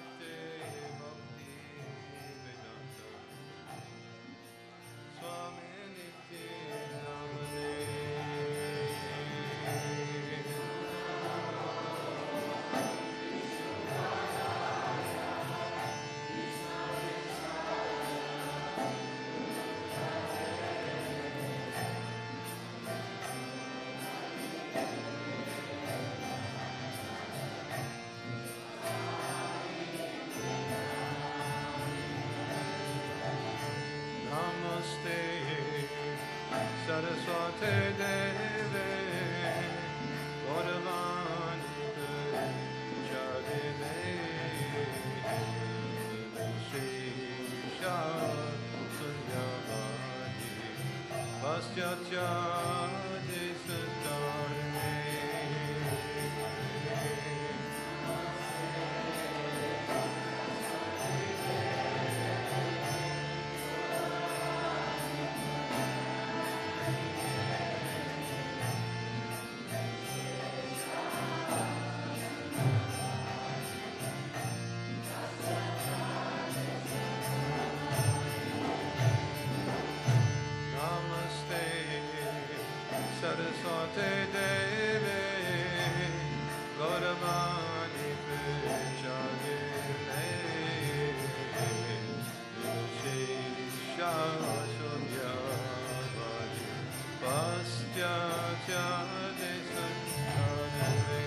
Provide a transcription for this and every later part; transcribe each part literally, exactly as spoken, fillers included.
Saraswate Deve Gauravani Pujadeve Shesha Sunyavadi Paschatya Desatarne Saraswate Deve Gauravani Pujadeve Shesha Sunyavadi Paschatya Desatarne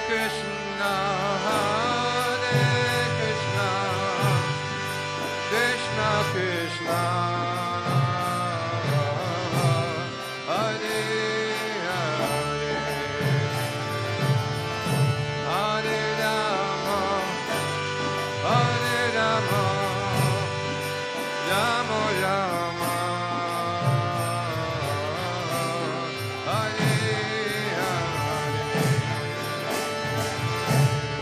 Krishna, Hare Krishna, Krishna Krishna, Hare Hare, Hare Rama, Hare Rama, Rama Rama, Hare Hare.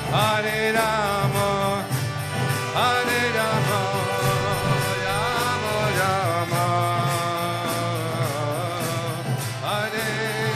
Hare Rama, Hare Rama, Rama Rama, Hare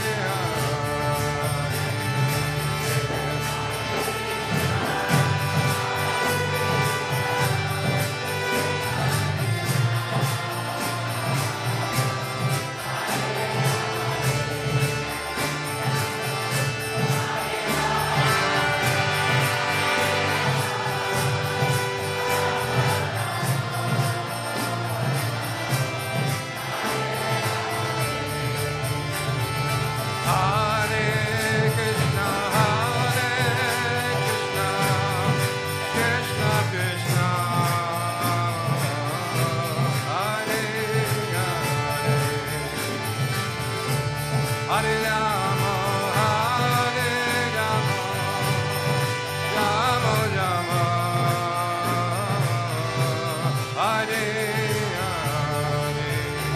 Hare Rama, Hare Rama, Rama Rama, Hare Hare.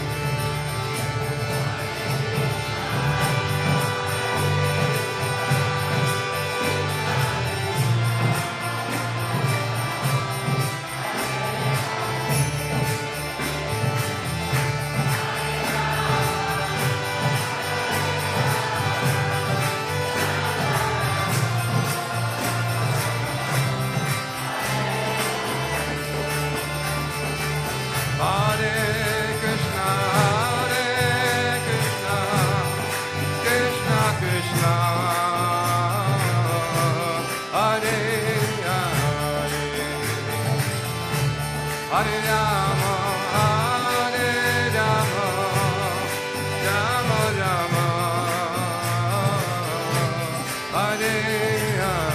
Hare Krishna, Hare Krishna, Krishna Krishna, Hare Hare, Hare Rama, Hare Rama, Rama Rama, Hare Hare.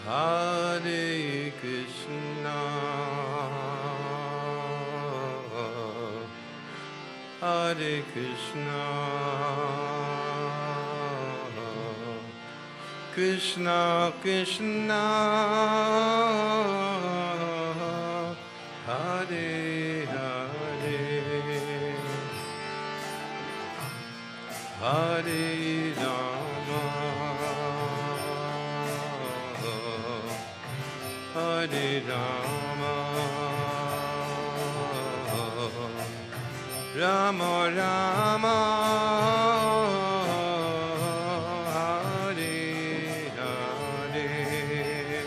Hare Krishna, Hare Krishna, Krishna Krishna, Hare Hare, Hare Rama, Hare Rama, Rama Rama, Hare Hare.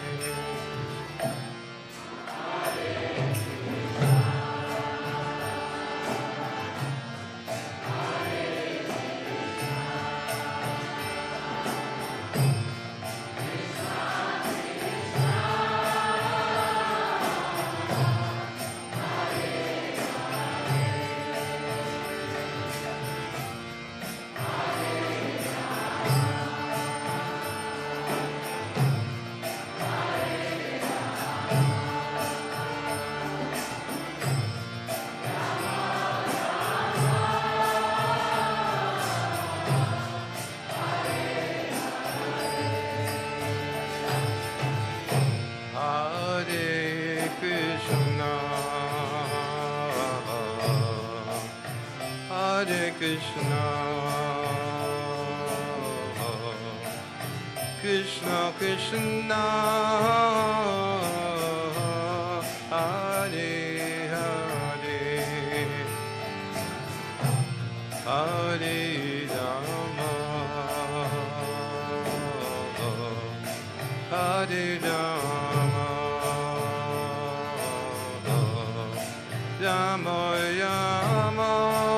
Hare Krishna, Hare Krishna, Krishna Krishna, Hare Hare, Hare Rama, Hare Rama, Rama Rama,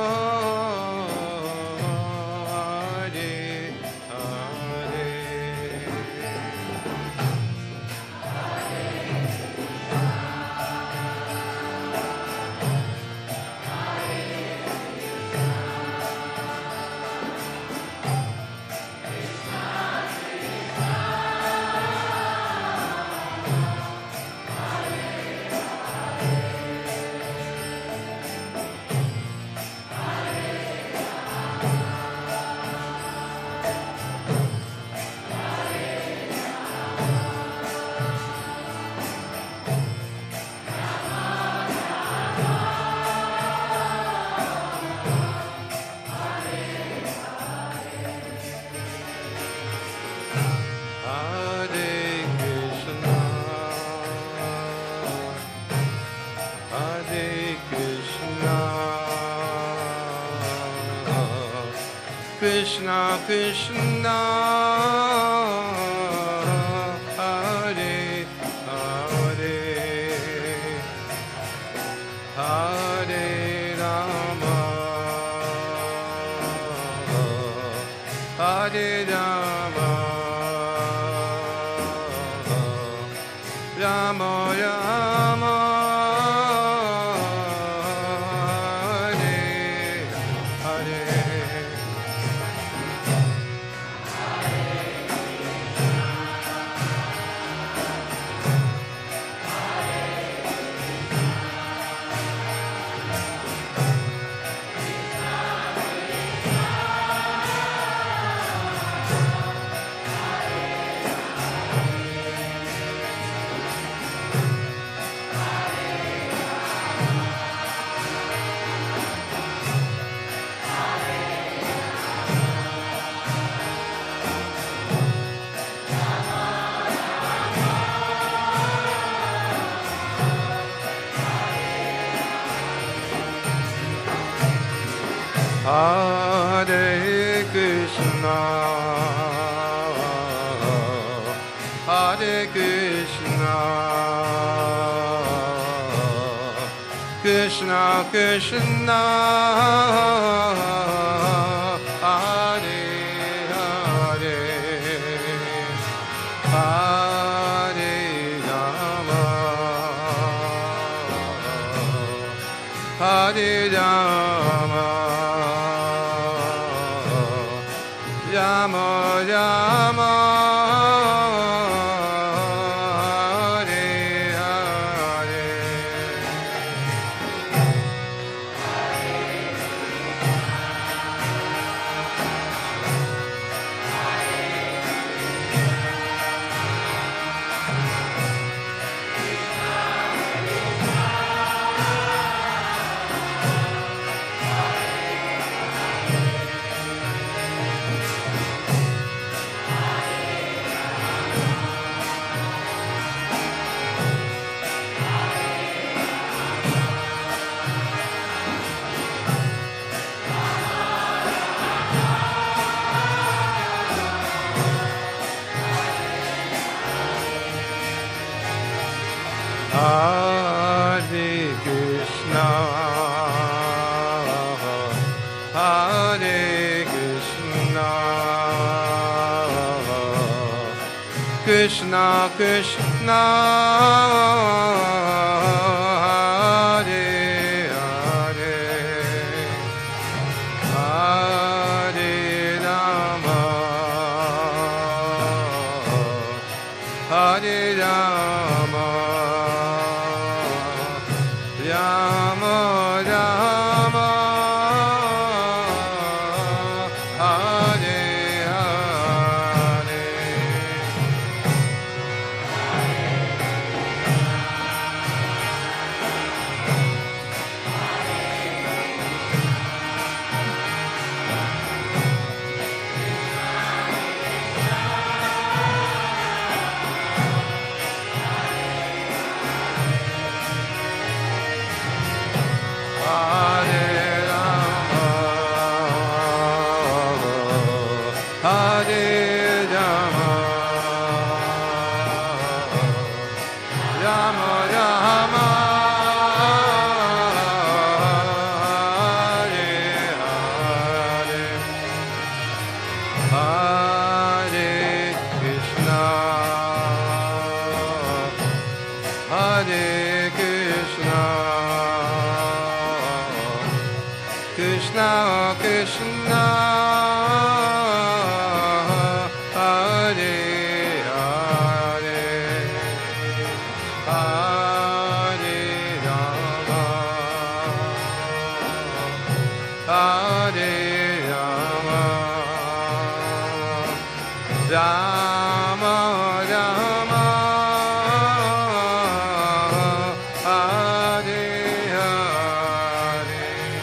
Hare Hare. Hare Krishna, Hare Krishna, Krishna Krishna, Hare Hare, Hare Rama, Hare Rama, Rama Rama, Hare Hare. Hare Krishna, Hare Krishna, Krishna Krishna, Hare Hare, Hare Rama, Hare Rama, Rama Rama, Hare Krishna, Krishna Krishna, Hare Hare, Hare Rama, Hare Rama, Rama Rama, Hare Hare. Hare Rama, Hare Rama, Rama Rama, Hare Hare, Hare Krishna, Hare Krishna, Krishna Krishna, Hare Hare, Hare Rama, Hare Rama, Rama Rama, Hare Hare.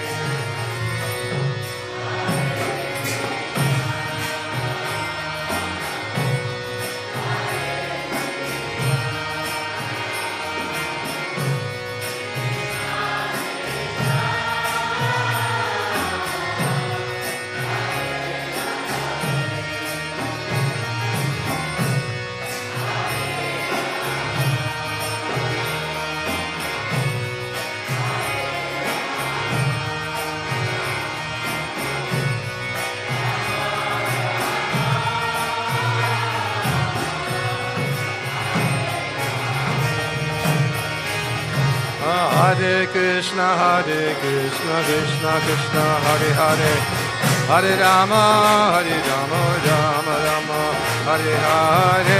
Hare Krishna, Hare Krishna, Krishna Krishna, Hare Hare, Hare Rama, Hare Rama, Rama Rama, Hare Hare.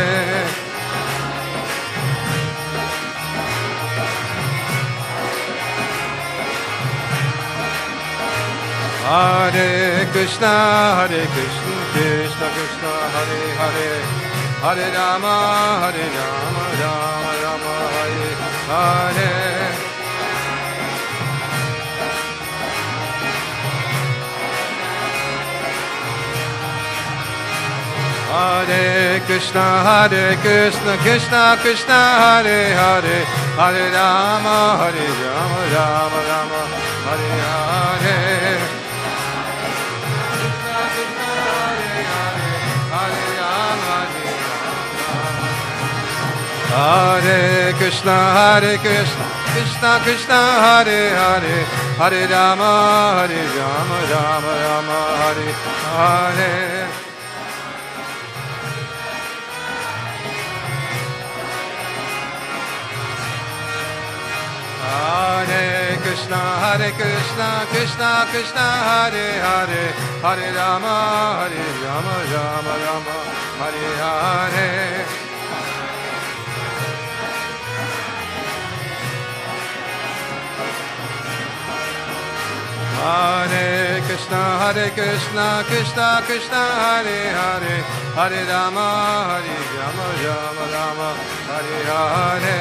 Hare Krishna, Hare Krishna, Krishna Krishna, Hare Hare, Hare Rama, Hare Rama, Rama Rama, Hare Hare. Hare Krishna, Hare Krishna, Krishna Krishna, Hare Hare, Hare Rama, Hare Rama, Rama Rama, Hare Hare. Hare Krishna, Hare Krishna, Krishna Krishna, Hare Hare, Hare Rama, Hare Rama, Rama Rama, Hare Hare. Hare Krishna, Hare Krishna, Krishna Krishna, Hare Hare, Hare Rama, Hare Rama, Rama Rama, Hare Hare. Hare Krishna, Hare Krishna, Krishna Krishna, Hare Hare, Hare Rama, Hare Rama, Rama Rama, Hare Hare.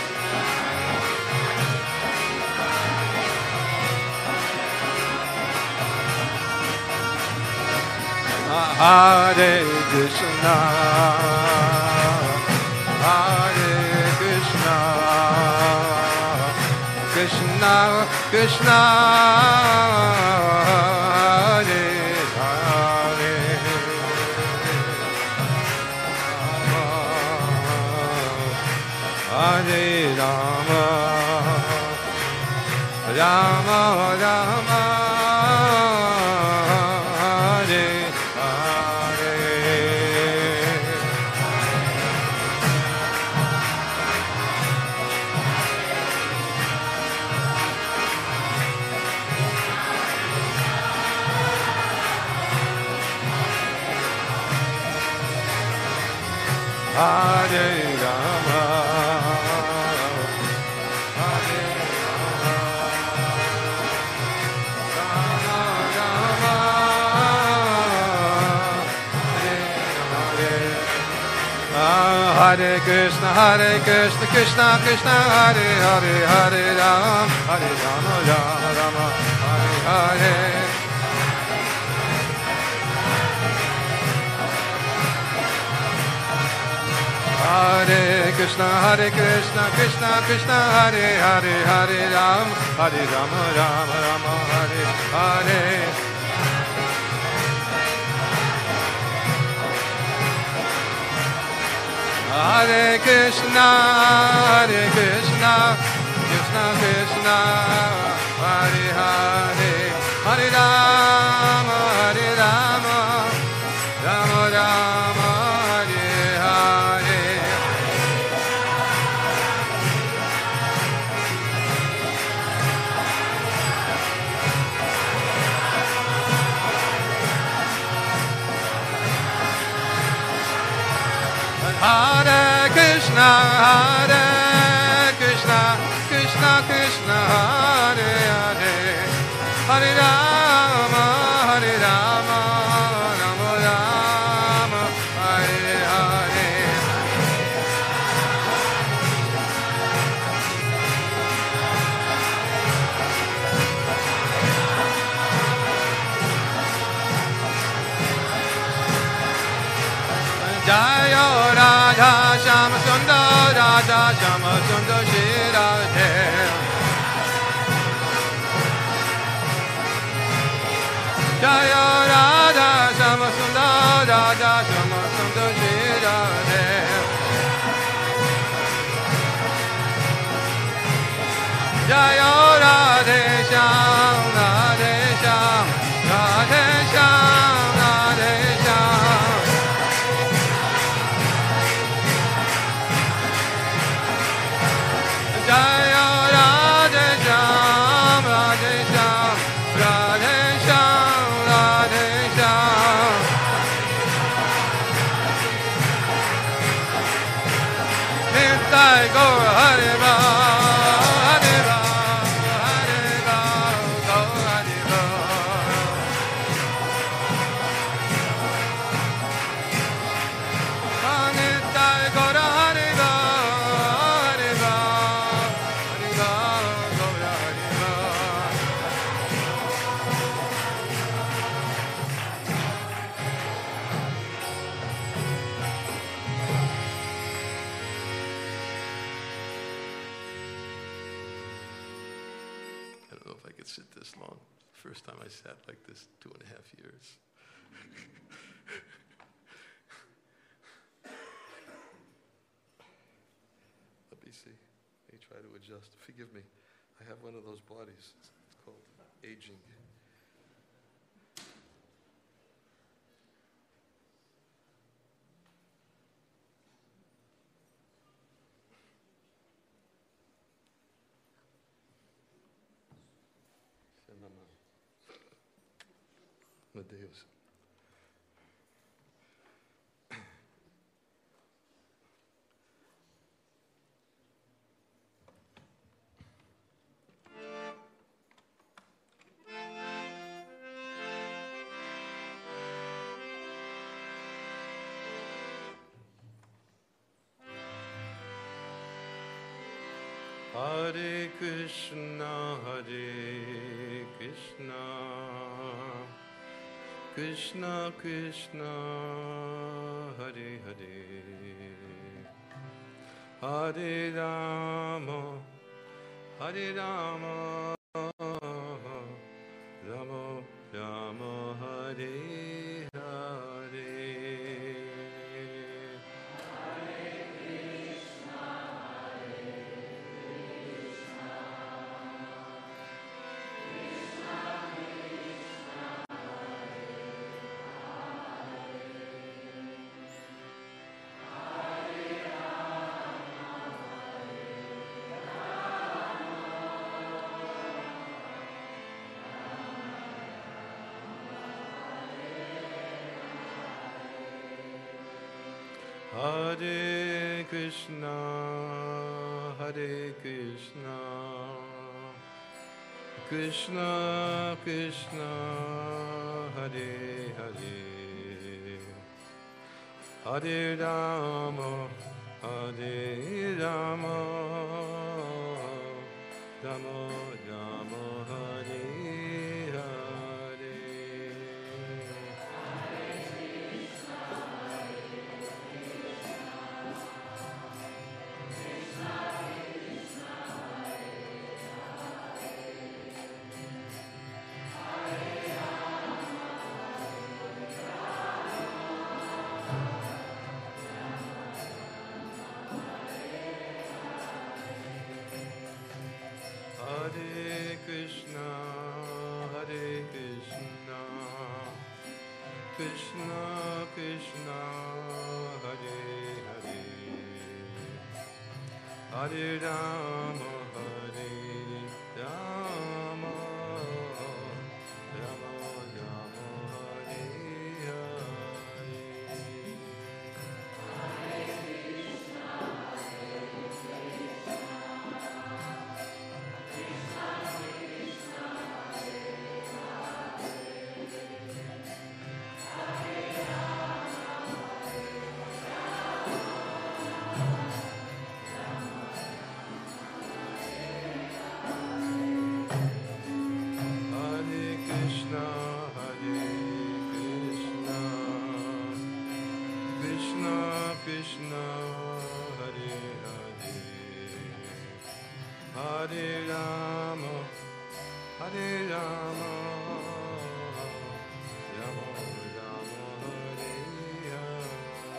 Hare Krishna, Hare Krishna, Krishna Krishna, Hare Hare, Hare Rama, Rama Rama, Hare Krishna, Hare Krishna, Krishna Krishna, Hare Hare, Hare Ram, Hare Rama, Rama Rama, Hare Hare. Hare Krishna, Hare Krishna, Krishna Krishna, Hare Hare, Hare Ram, Hare Rama, Rama Rama, Hare Hare. Hare Krishna, Hare Krishna, Krishna Krishna, Hare Hare, Hare Rama, Hare Rama, Rama Rama, Hare Hare. Hare Krishna, Hare Krishna, Krishna Krishna, Hare Hare, Hare Rama, Hare Rama, Rama Rama, Hare Hare. Jaya Radha Shama Sundar, Radha Shama Sundar Shri Radhe. Jaya Radha Shama Sundar, Radha Shama Sundar Shri Radhe. Jaya Radhe Sham, Radhe Sham, Radhe Sham, Radhe Sham. Jaya Radhe Sham, Radhe Sham, Radhe Sham, Radhe Sham. Nittai Gaur Hare Ram, Hare Ram, Hare Ram, Gaur Hare Ram. Nittai Gaur Hare Ram, Hare Ram, Hare Ram, Gaur Hare Ram. I don't know if I could sit this long. First time I sat like this, two and a half years. Let me see. Let me try to adjust. Forgive me. I have one of those bodies. It's called aging. Deus. Hare Krishna, Hare Krishna, Krishna Krishna, Hare Hare, Hare Rama, Hare Rama, Rama Rama, Hare Hare. Hare Krishna, Hare Krishna, Krishna Krishna, Hare Hare, Hare Rama, Hare Rama, Rama Rama Hare Hare. Hare Krishna, Hare Krishna, Krishna Krishna, Hare Hare, Hare Rama, Hare Rama, Rama Rama, Hare Hare. Krishna, Hare Hare, Hare Rama, Hare Rama, Rama Rama, Hare Hare.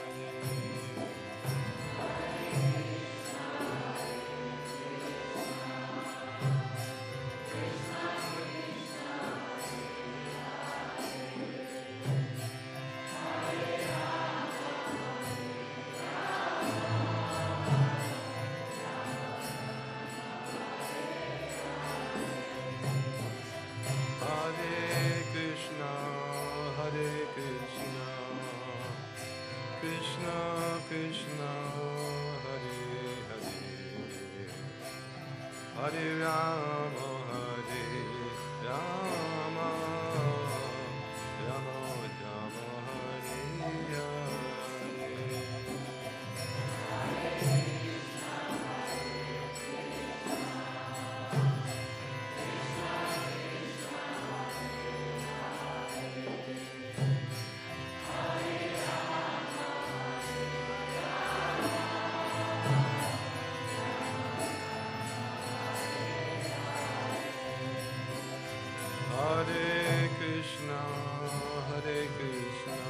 Krishna Krishna, Hare Hare, Hare Rama, Hare Rama, Rama Rama, Hare Hare. Hare Krishna, Hare Krishna,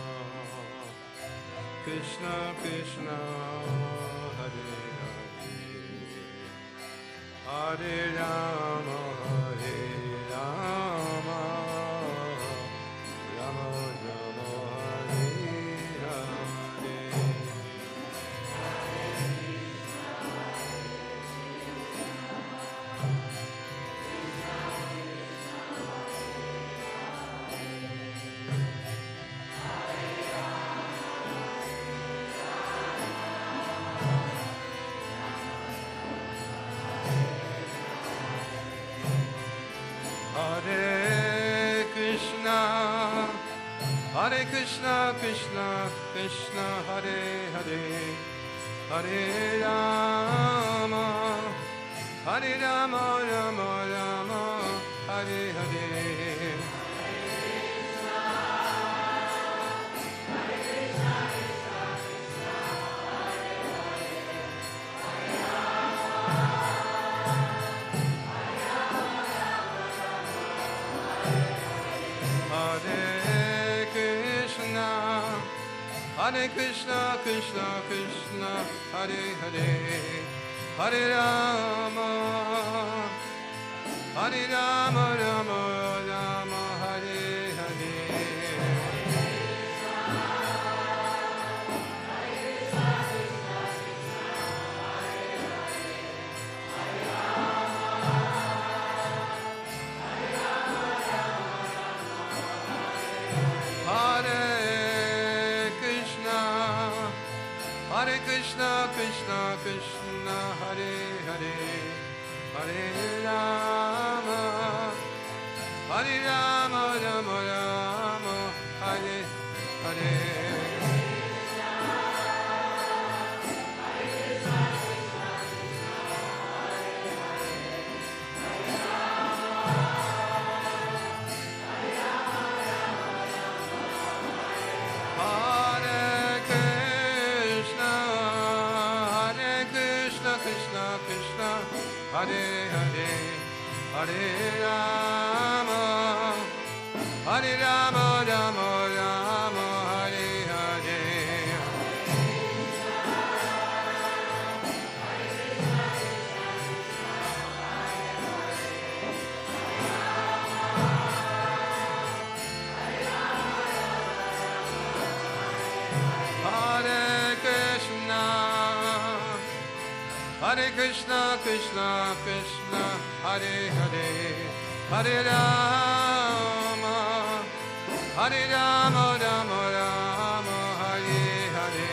Krishna Krishna, Hare Hare, Hare Rama, Hare Rama, Rama Rama, Hare Hare. Hare Krishna, Hare Krishna, Krishna Krishna, Hare Hare, Hare Rama, Hare Rama, Rama Rama, Hare Hare. Hare Krishna, Hare Krishna, Krishna Krishna, Hare Hare, Hare Rama, Hare Rama, Rama Rama, Hare Hare. Hare Krishna, Hare Krishna, Krishna Krishna, Hare Hare, Hare Rama, Hare Rama, Rama Rama, Hare Hare. Hare Krishna, Hare Krishna, Hare Rama, Hare Rama, Rama Rama, Hare Hare. Hare Krishna, Hare Krishna, Krishna Krishna, Hare Hare, Hare Rama, Hare Rama, Rama Rama, Hare Hare.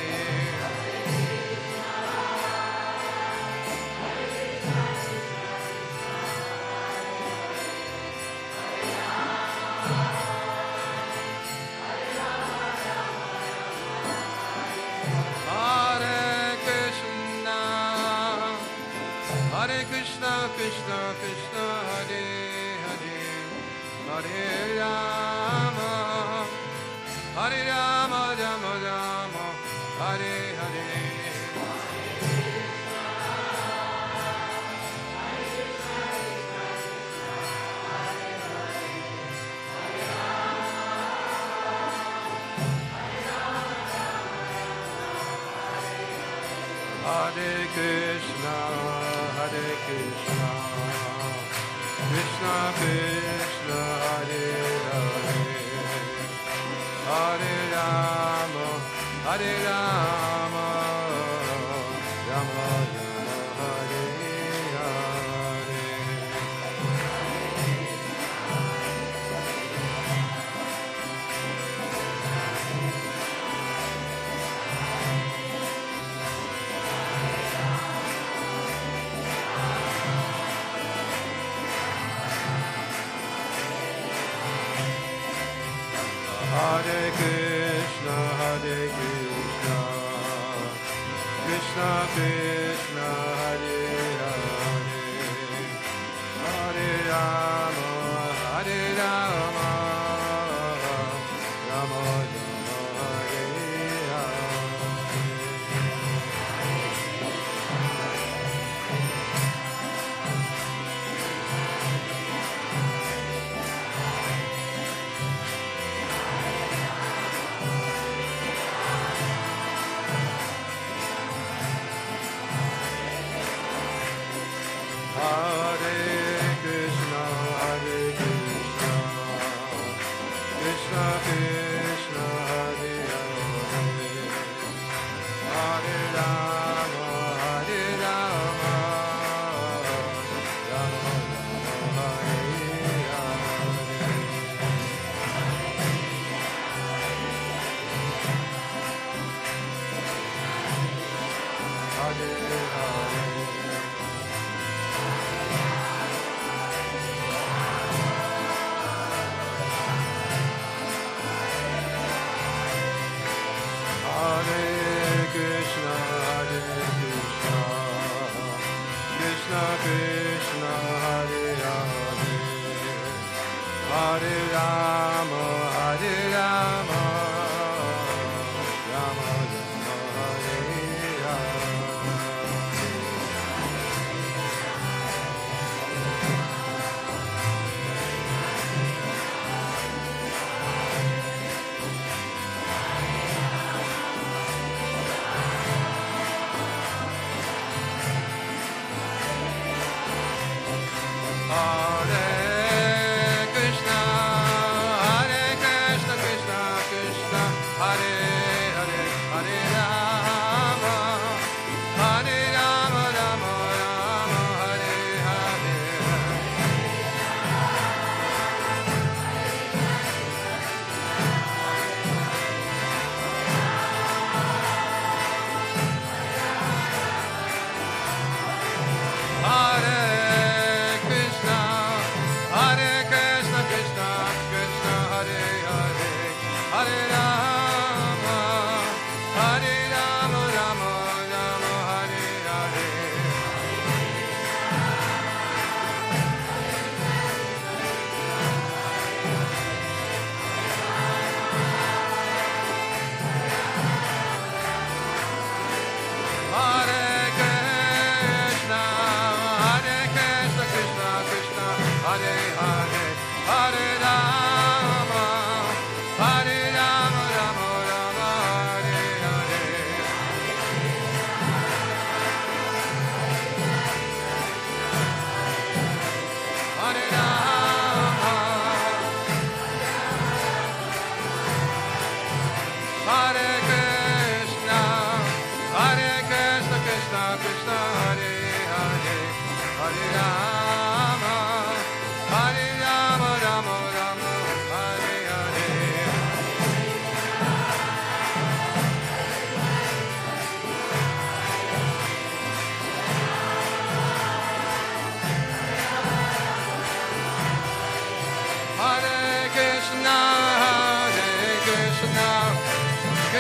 Hare Krishna, Hare Krishna, Krishna Krishna, Hare Hare, Hare Rama, Hare Rama, Rama Rama, Hare Hare. Hare Krishna, Hare Krishna, Krishna Krishna, Hare Hare, Hare Rama, Hare Rama, Rama Rama, Hare Hare. Hare Krishna, Hare Krishna, Krishna Krishna, Hare Hare, Hare Rama, Hare Rama, Rama Rama, Hare Hare. Hare Krishna, Hare Krishna, Krishna Krishna, Hare Hare, Hare Rama, Hare Rama, Rama Rama, Hare Hare. Hare Hare. Hare Krishna, Hare Krishna, Krishna Krishna, Hare Hare, Hare Rama, Hare Rama, Rama Rama, Hare Hare. Hare Krishna, Hare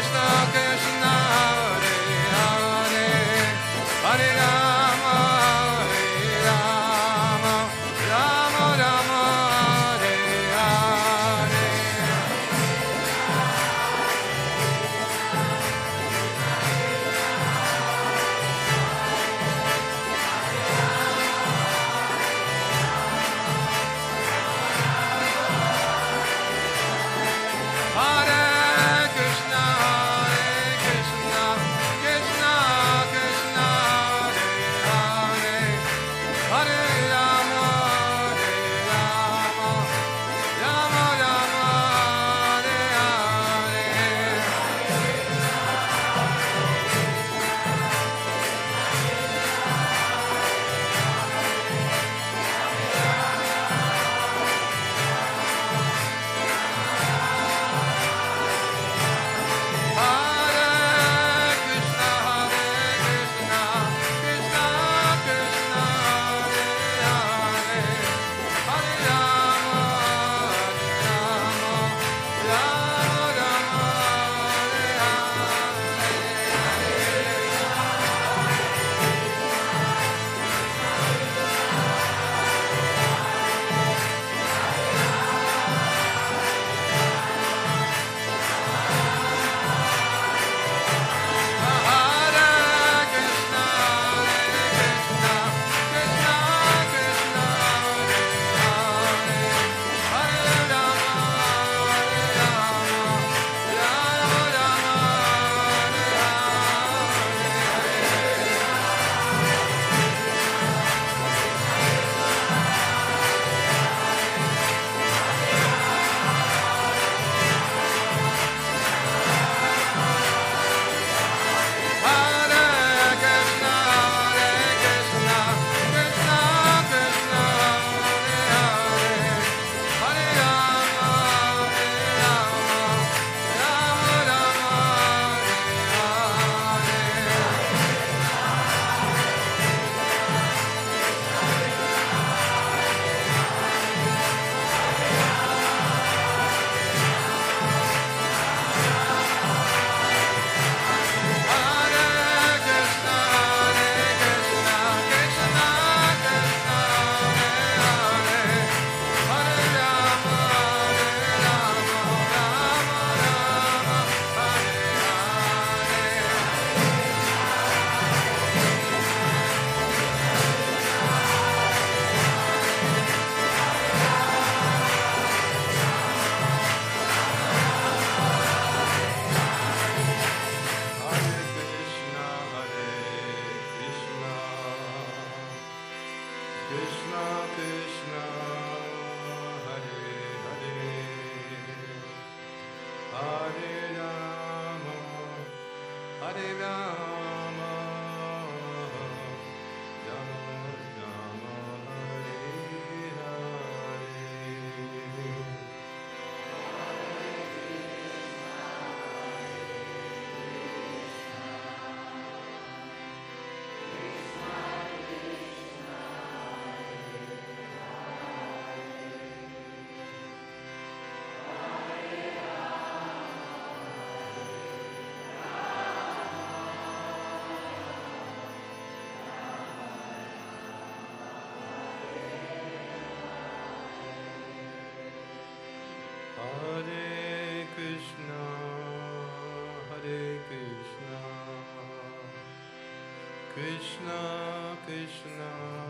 Krishna, Krishna,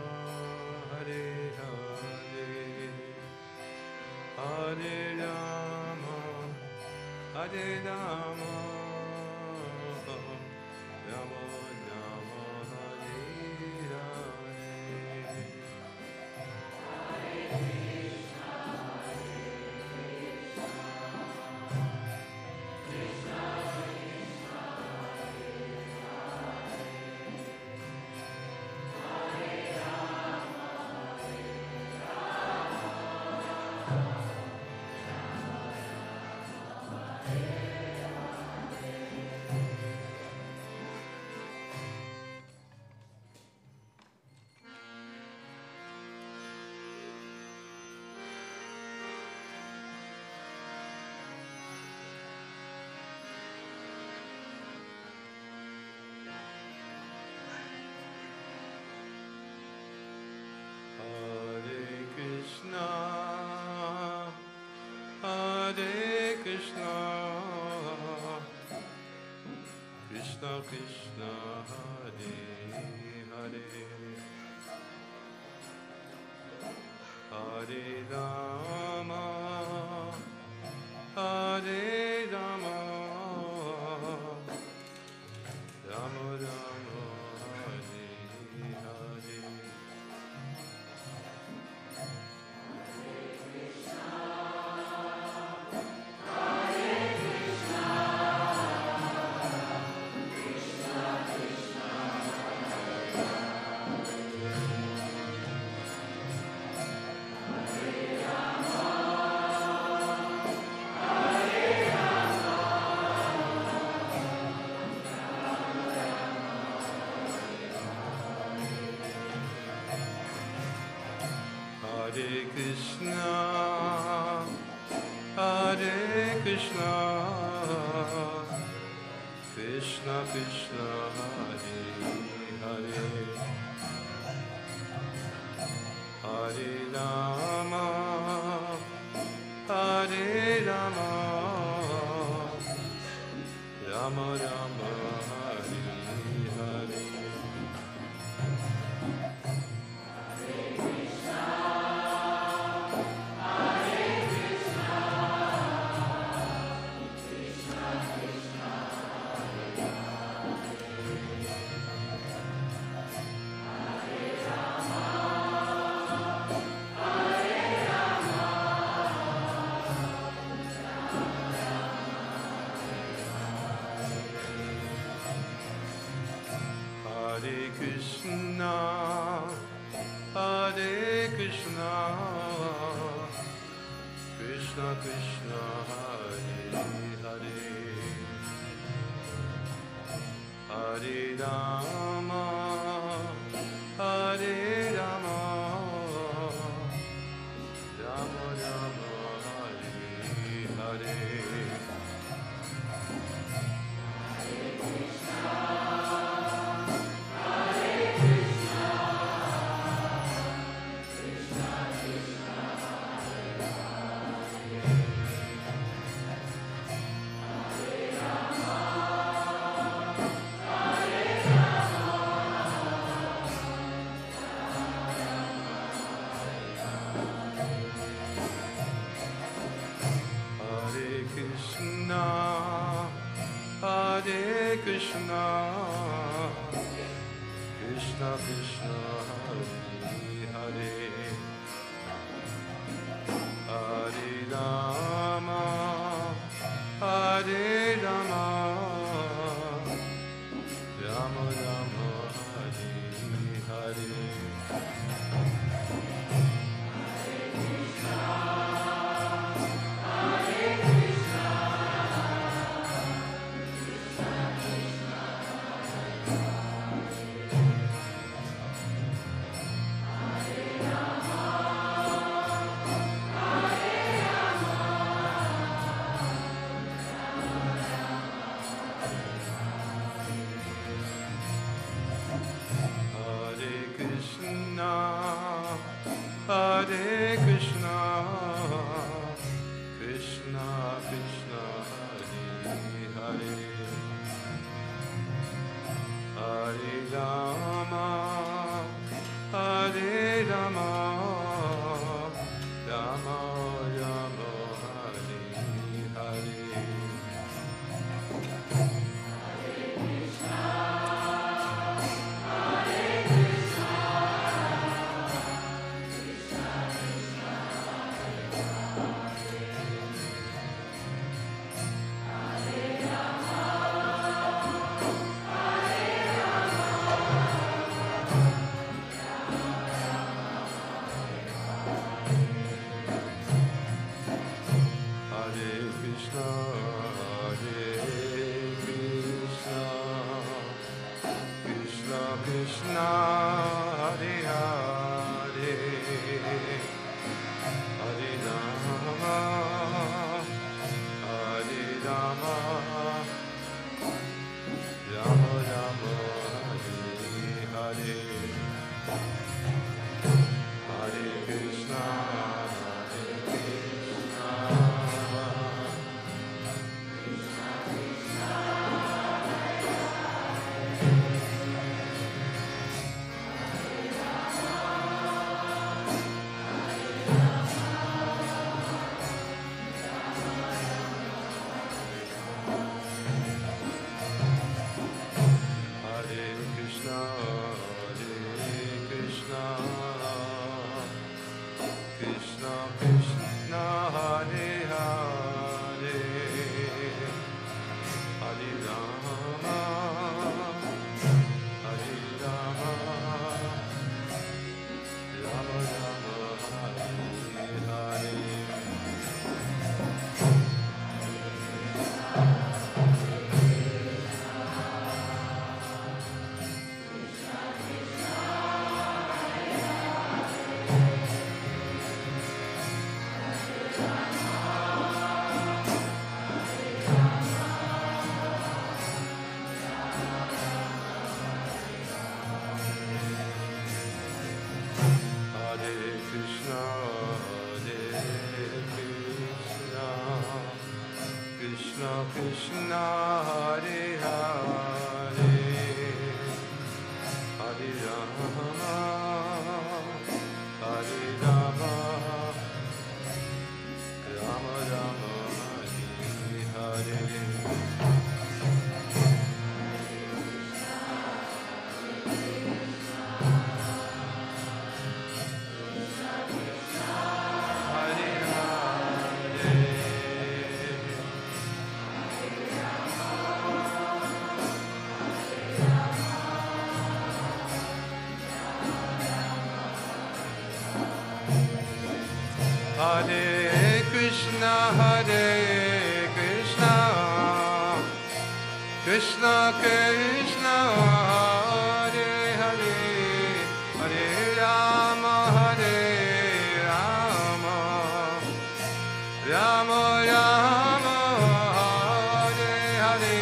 Hare Hare, Hare Rama, Hare Rama, Rama Rama, Hare Hare. Krishna, Krishna Krishna, Hare Hare, Hare Rama, Hare Rama, Rama Rama, Hare Hare. Hare Krishna, Hare Krishna, Krishna Krishna, Hare Hare, Hare Rama, Hare Rama, Rama Rama, Hare Hare. Hare Krishna, Hare Krishna, Krishna Krishna, Hare Hare, Hare Rama, Hare Rama, Rama Rama, Hare Hare. Krishna, Hare Krishna, Krishna Krishna, Hare Hare, Hare Rama, Hare Rama, Rama Rama, Hare Hare. Hare Krishna, Krishna Krishna, Hare Hare, Hare Rama, Hare Rama, Rama Rama, Hare Hare. Krishna, Hare Hare, Hare Rama, Hare Rama, Rama Rama, Hare Hare, Hare Krishna, Hare Krishna, Hare Hare, Hare Rama, Hare Rama, Rama Rama, Hare Hare. Krishna Hare Hare, Hare Rama, Hare Rama, Rama Rama, Hare Hare. Hare Krishna, Hare Krishna, Krishna Krishna, Hare Hare, Hare Rama, Hare Rama, Rama Rama, Hare Hare.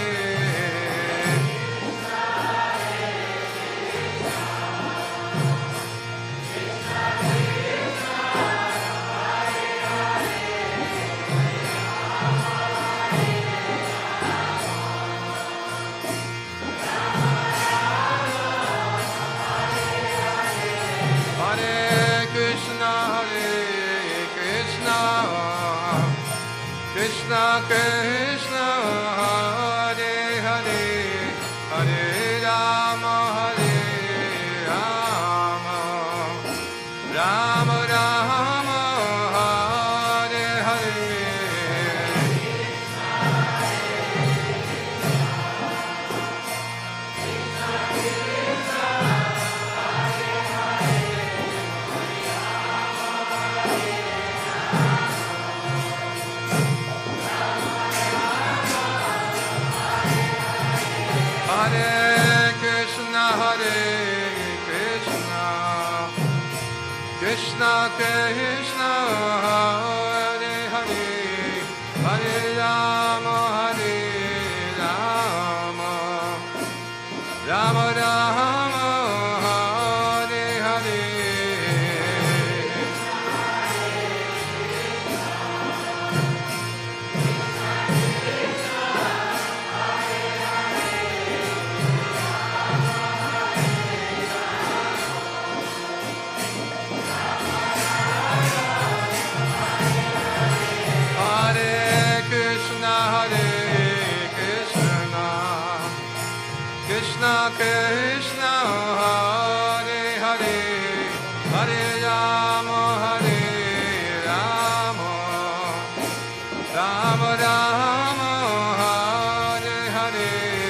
Krishna Krishna, Hare Hare, Hare Rama, Hare Rama, Rama Rama, Hare Hare. Krishna Krishna, Hare Hare, Hare Rama, Hare Rama, Rama Rama, Hare Hare. Krishna Krishna, Hare Hare, Hare Rama, Hare Rama, Rama Rama, Hare Hare.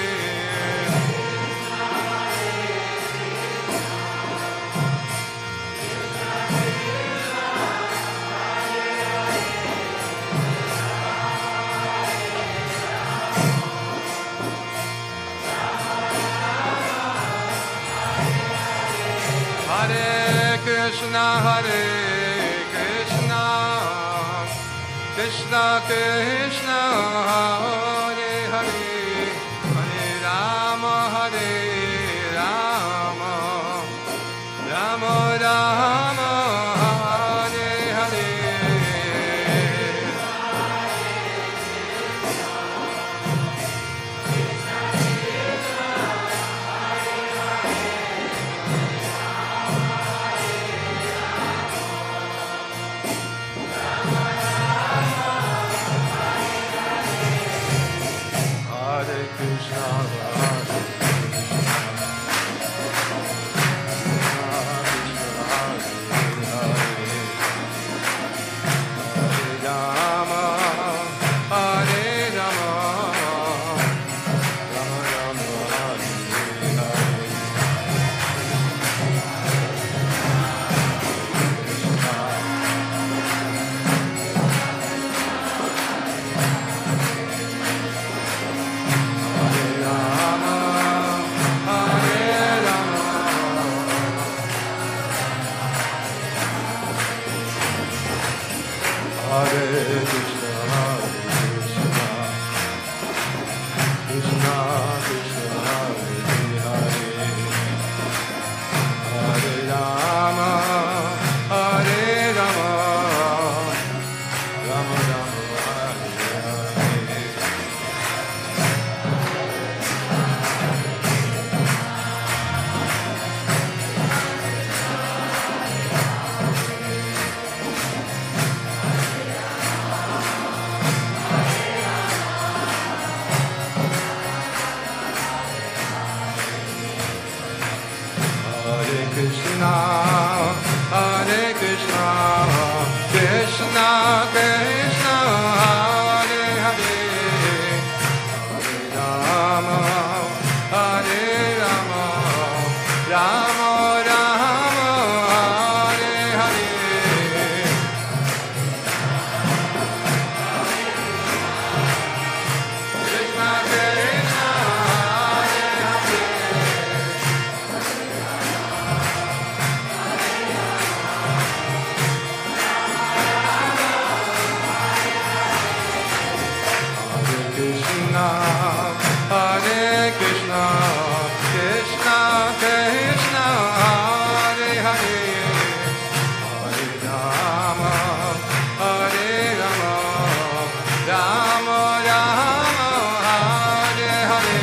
Hare Krishna, Hare Krishna, Krishna Krishna, Hare Hare, Hare Rama, Hare Rama, Rama Rama, Hare Hare. Ram, Hare Krishna, Krishna Krishna, Hare Hare, Hare Rama, Hare Rama, Rama Rama, Hare Hare.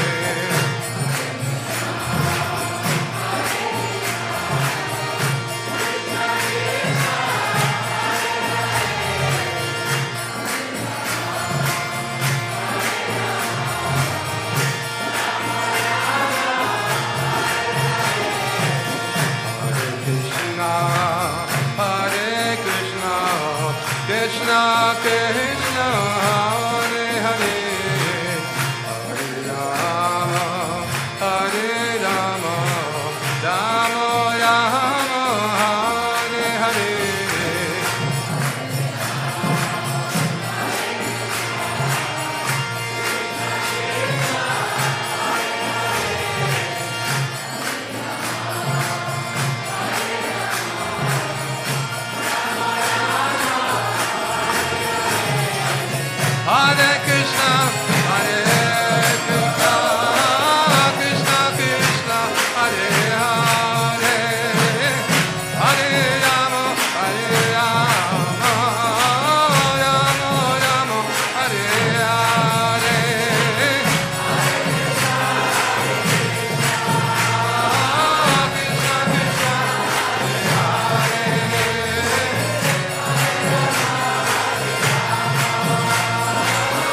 Krishna Krishna, Hare Hare, Hare Rama, Hare Rama, Rama Rama, Hare Hare. Hare Krishna, Hare Krishna, Krishna Krishna, Hare Hare, Hare Rama, Hare Rama, Rama Rama, Hare Hare. Krishna Krishna, Hare Hare.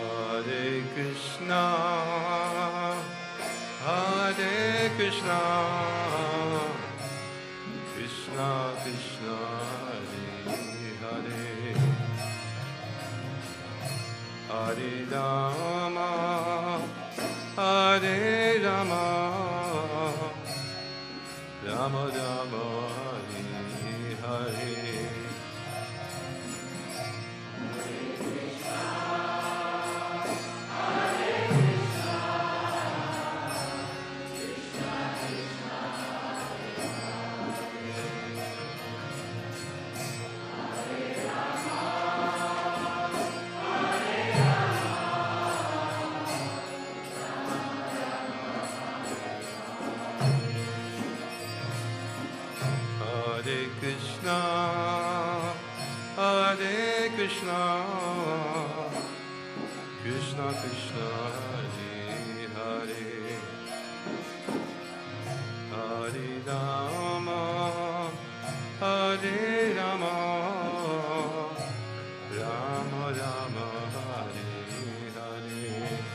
Hare Krishna, Hare Krishna, Krishna Krishna, Hare Hare, Hare Rama, Hare Rama, Rama Rama, Hare Hare. Hare Krishna, Hare Krishna, Krishna Krishna, Hare Hare, Hare Rama, Hare Rama, Rama Rama, Hare Hare.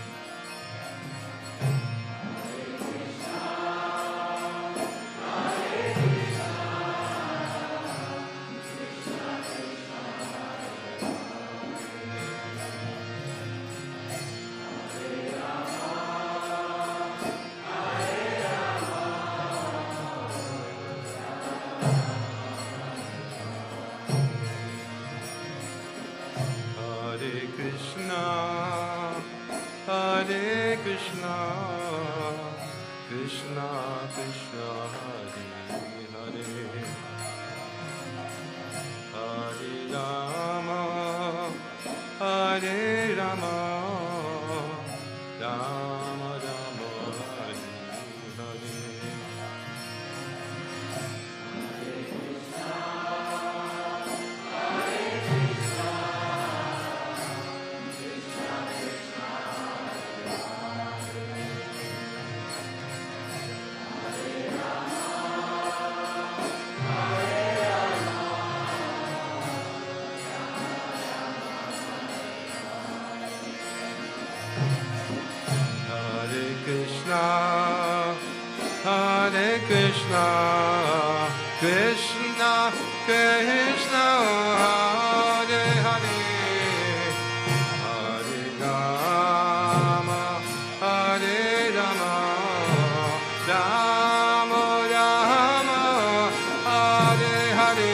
Hare Krishna, Hare Krishna, Krishna Krishna, Hare Hare, Hare Rama, Hare Rama, Rama Rama, Hare Hare. Hare Krishna, Hare Krishna, Krishna Krishna, Hare Hare, Hare Rama, Hare Rama, Rama Rama, Hare Hare.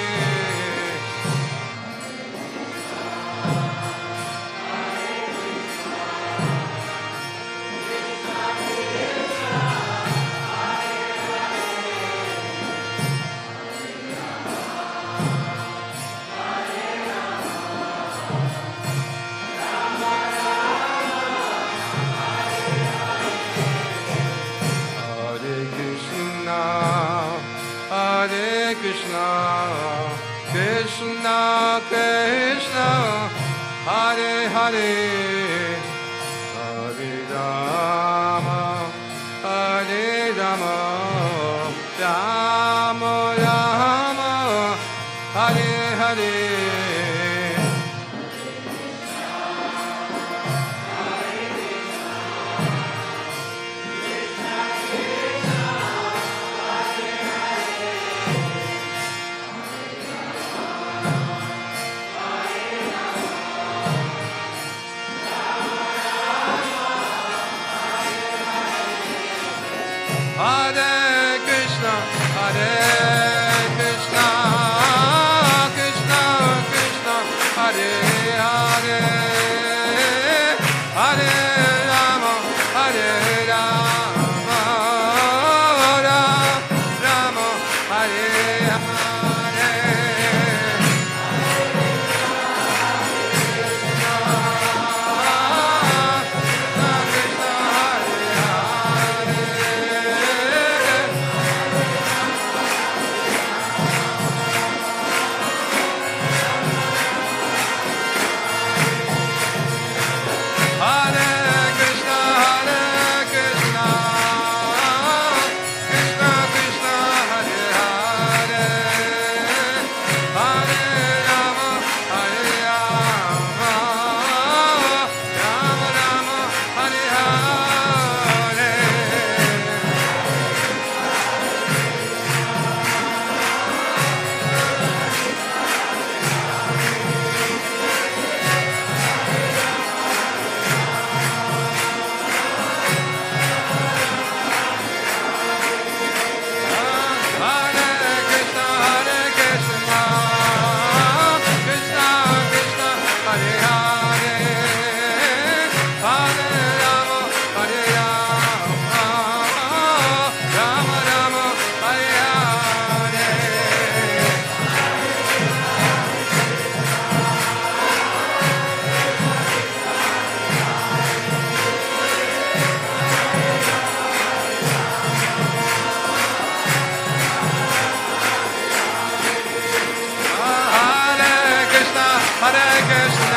Hare Krishna, Krishna Krishna, Hare Hare, Hare Rama, Hare Rama, Rama Rama, Hare Hare. Hare Krishna, Hare Krishna, Krishna Krishna, Hare Hare, Hare Rama, Hare Rama, Rama Hare Hare. Hare Hare Krishna,